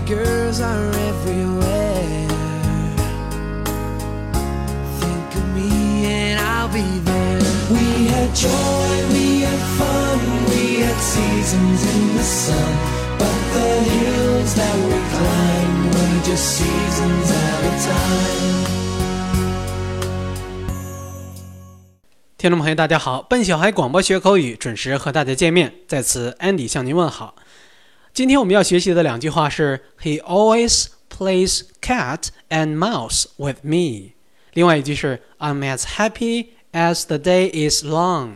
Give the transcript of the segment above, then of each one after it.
girls are everywhere. Think of me and I'll be there. We had joy, we had fun, we had seasons in the sun, but the hills that we climbed were just seasons at a time. 听众朋友大家好，笨小孩广播学口语准时和大家见面，在此 Andy 向您问好。今天我们要学习的两句话是 He always plays cat and mouse with me， 另外一句是 I'm as happy as the day is long。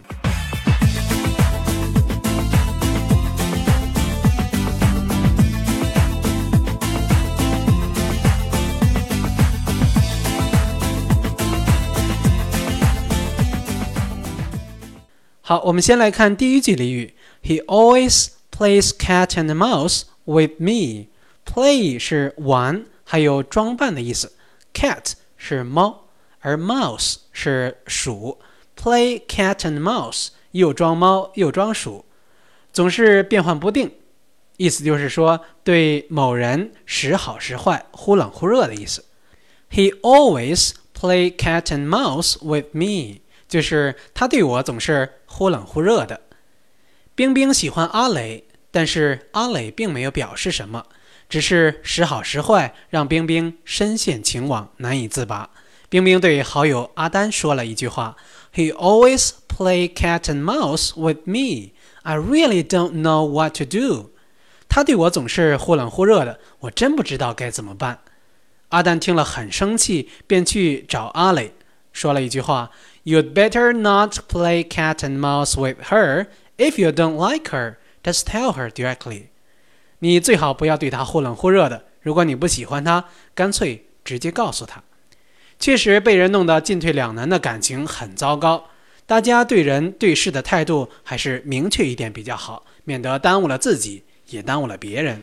好，我们先来看第一句俚语 He always plays cat and mouse with me。 Play 是玩还有装扮的意思， Cat 是猫，而 mouse 是鼠。 Play cat and mouse 又装猫又装鼠，总是变幻不定，意思就是说对某人时好时坏，忽冷忽热的意思。 He always play cat and mouse with me， 就是他对我总是忽冷忽热的。冰冰喜欢阿磊，但是阿磊并没有表示什么，只是时好时坏，让冰冰深陷情网，难以自拔。冰冰对好友阿丹说了一句话 He always play cat and mouse with me. I really don't know what to do. 他对我总是忽冷忽热的，我真不知道该怎么办。阿丹听了很生气，便去找阿磊，说了一句话 You'd better not play cat and mouse with her. If you don't like her, just tell her directly. 你最好不要对她忽冷忽热的，如果你不喜欢她，干脆直接告诉她。确实被人弄得进退两难的感情很糟糕，大家对人对事的态度还是明确一点比较好，免得耽误了自己，也耽误了别人。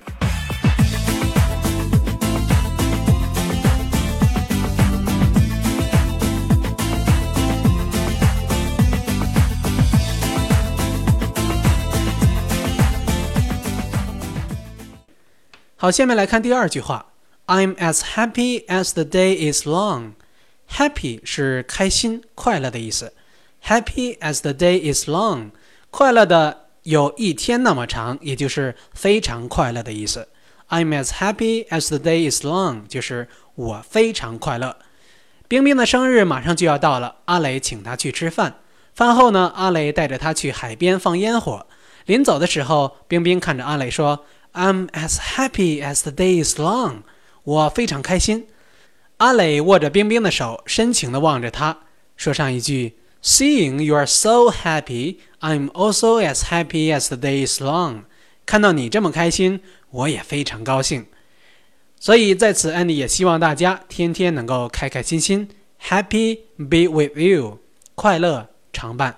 好，下面来看第二句话 I'm as happy as the day is long. Happy 是开心快乐的意思， Happy as the day is long， 快乐的有一天那么长，也就是非常快乐的意思。 I'm as happy as the day is long 就是我非常快乐。冰冰的生日马上就要到了，阿磊请她去吃饭，饭后呢，阿磊带着她去海边放烟火。临走的时候，冰冰看着阿磊说I'm as happy as the day is long. 我非常开心。阿磊握着冰冰的手，深情地望着她，说上一句 Seeing you are so happy, I'm also as happy as the day is long. 看到你这么开心，我也非常高兴。所以在此 Andy 也希望大家天天能够开开心心 Happy be with you， 快乐常伴。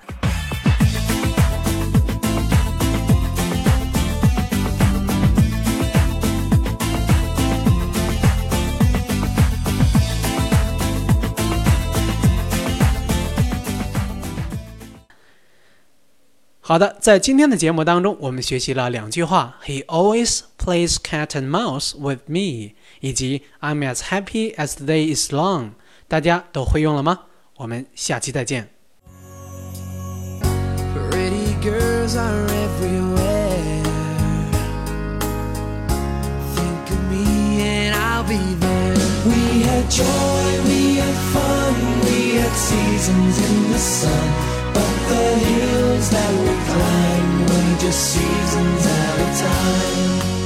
好的，在今天的节目当中，我们学习了两句话 He always plays cat and mouse with me 以及 I'm as happy as the day is long， 大家都会用了吗？我们下期再见。 Pretty girls are everywhere. Think of me and I'll be there. We had joy, we had fun, we had seasons in the sun, but the hills that we climbed were just seasons at a time.